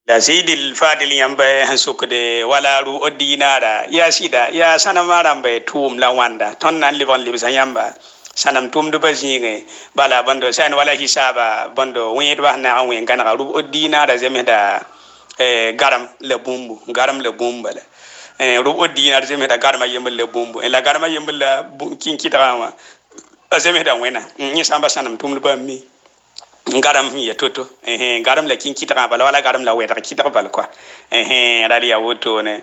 la sidil fadil yamba hansukde wala ru odinara ya sida ya sanama rambe tum la wanda ton nan libon libsa yamba sanam tum do bazinge bala bando san wala hisaba bando wen ba na wen kana ru odinara zemeda garam le bumba la ru odinara zemeda garma yembel le bumbu la garma yembel la kinkitama zemeda wena ni samba sanam tum do ba mi garam ya toto garam la kin kitaka bala wala garam la weta kitaka bal kwa rali ya woto ne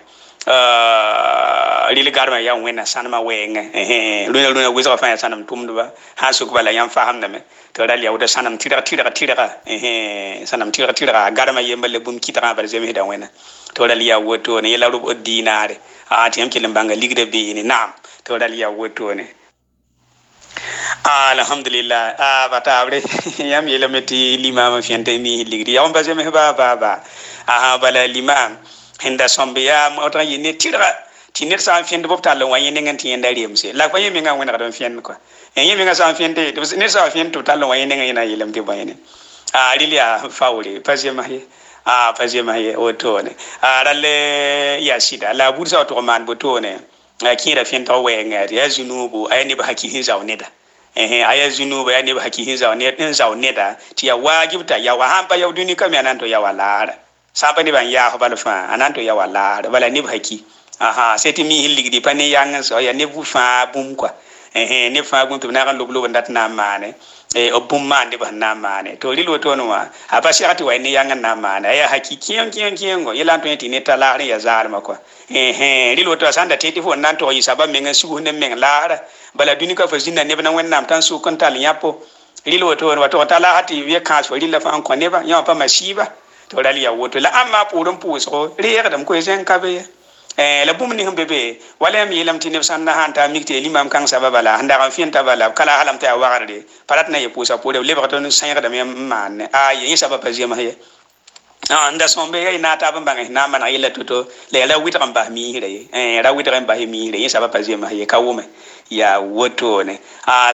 lili garma ya wena sanama wenga luna wizo fa ya sanam tumduba hasu bala yam faham na me to rali ya woto sanam tira sanam tira garma yemba le bum kitaka bal zemi da wena to rali ya woto ne yela rub dinare tiyam kilim banga ligde be ni naam to rali ya woto ne alhamdulillah bata abre yam yele meti limam fiente mi ligri yam baje me ba bala limam hinda sombe ya otra yini tira tinir sa fiente bop talo wa yini nganti yenda remse la ko yemi ngan wona don fiente ko yemi ngan sa fiente de ne sa fiente talo wa yini ngan yana yelam te bayene lilia fawle paje ma ye otone ralle ya sida la bursa to man botone kira fiente wenga ya zinubu ayni ba hakihin zawneda aya zinuba ya ne ba hakihin zaune da ti ya wajibta ya wa hamba ya duni kam ananto ya wala saba ni ban ya ho balfa ananto ya wala bala ni ba haki seti mi hilligdi pani yang so ya ne bu fa bum kwa ne fa bum to na kan loblo ndat na mane o bum mande ba na mane to lilo to no wa aba shati wa ne yang na mane ya haki kiyon go yela to yeti ne tala ya zar makwa lilo to sanda teti fo nan to yi saba menga su ne men lara bala duni ka fazina ne bana wannan tan su kan tal yapo lilo to wato tala hati we kan so lilo fa an ko ne ba ya pa masiba to rali ya woto la amma purun puso riya dam ko zen kabe la bum ni hum bebe wala mi lam tinib sanna hanta mikte limam kan sababa la handa kan fienta bala kala halam ta wagarde parat na ye pusa pore le ba to sanya da me man yi sababa zema he anda sombe ya ina ta bamba na mana yela toto le la witra ba mi hire ra witra ba mi hire yi sababa zema he kawume ya woto ne